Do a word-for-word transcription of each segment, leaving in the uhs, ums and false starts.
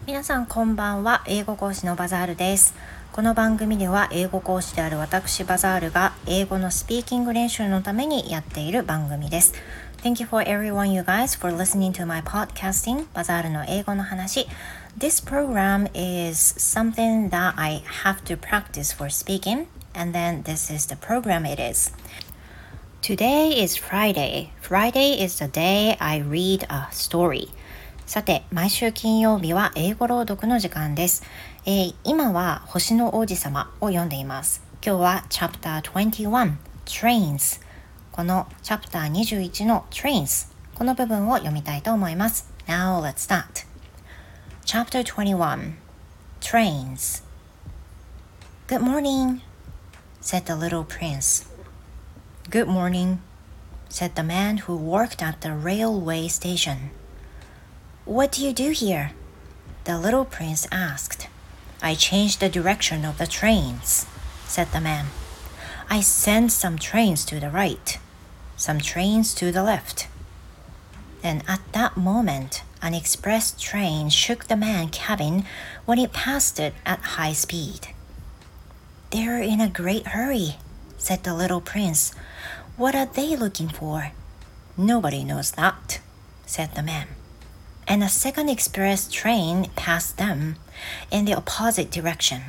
皆さんこんばんは。英語講師のバザールです。この番組では英語講師である私バザールが英語のスピーキング練習のためにやっている番組です。Thank you for everyone you guys for listening to my podcasting バザールの英語の話。This program is something that I have to practice for speaking and then this is the program it is.Today is Friday. Friday is the day I read a story. さて、毎週金曜日は英語朗読の時間です。えー、今は星の王子様を読んでいます。今日は Chapter にじゅういち Trains。この Chapter にじゅういちの Trains。この部分を読みたいと思います。Now let's start. Chapter にじゅういち Trains. Good morning, said the little prince.Good morning, said the man who worked at the railway station. What do you do here? The little prince asked. I changed the direction of the trains, said the man. I sent some trains to the right, some trains to the left. And at that moment, an express train shook the man's cabin when it passed it at high speed. They're in a great hurry, said the little prince.What are they looking for? Nobody knows that, said the man. And a second express train passed them in the opposite direction.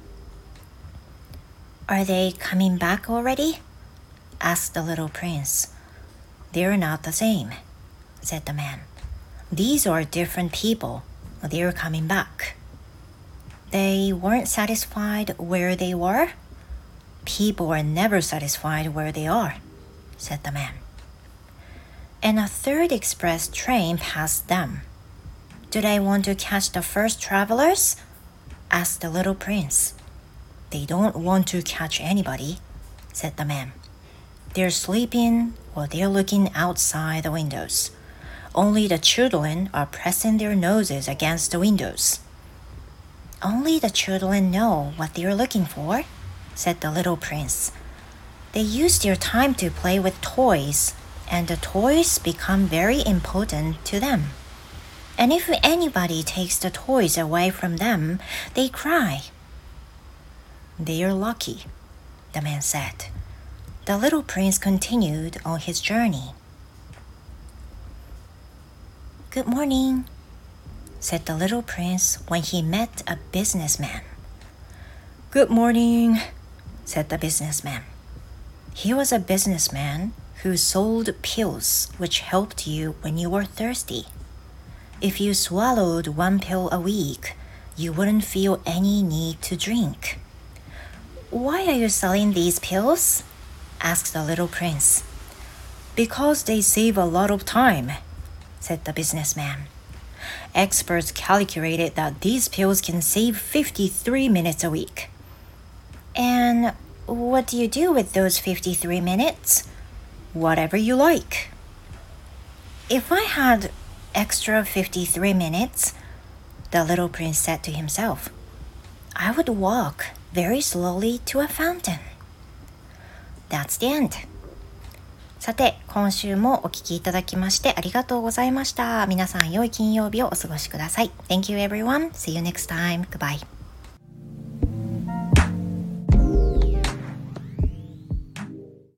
Are they coming back already? Asked the little prince. They're not the same, said the man. These are different people. They're coming back. They weren't satisfied where they were? People are never satisfied where they are.said the man. And a third express train passed them. Do they want to catch the first travelers? Asked the little prince. They don't want to catch anybody, said the man. They're sleeping or they're looking outside the windows. Only the children are pressing their noses against the windows. Only the children know what they're looking for, said the little prince.They use their time to play with toys, and the toys become very important to them. And if anybody takes the toys away from them, they cry. They are lucky, the man said. The little prince continued on his journey. Good morning, said the little prince when he met a businessman. Good morning, said the businessman.He was a businessman who sold pills which helped you when you were thirsty. If you swallowed one pill a week, you wouldn't feel any need to drink. Why are you selling these pills? Asked the little prince. Because they save a lot of time, said the businessman. Experts calculated that these pills can save fifty-three minutes a week. And...What do you do with those fifty-three minutes? Whatever you like. If I had extra fifty-three minutes, the little prince said to himself, I would walk very slowly to a fountain. That's the end. さて、今週もお聞きいただきましてありがとうございました。皆さん良い金曜日をお過ごしください。Thank you everyone. See you next time. Goodbye.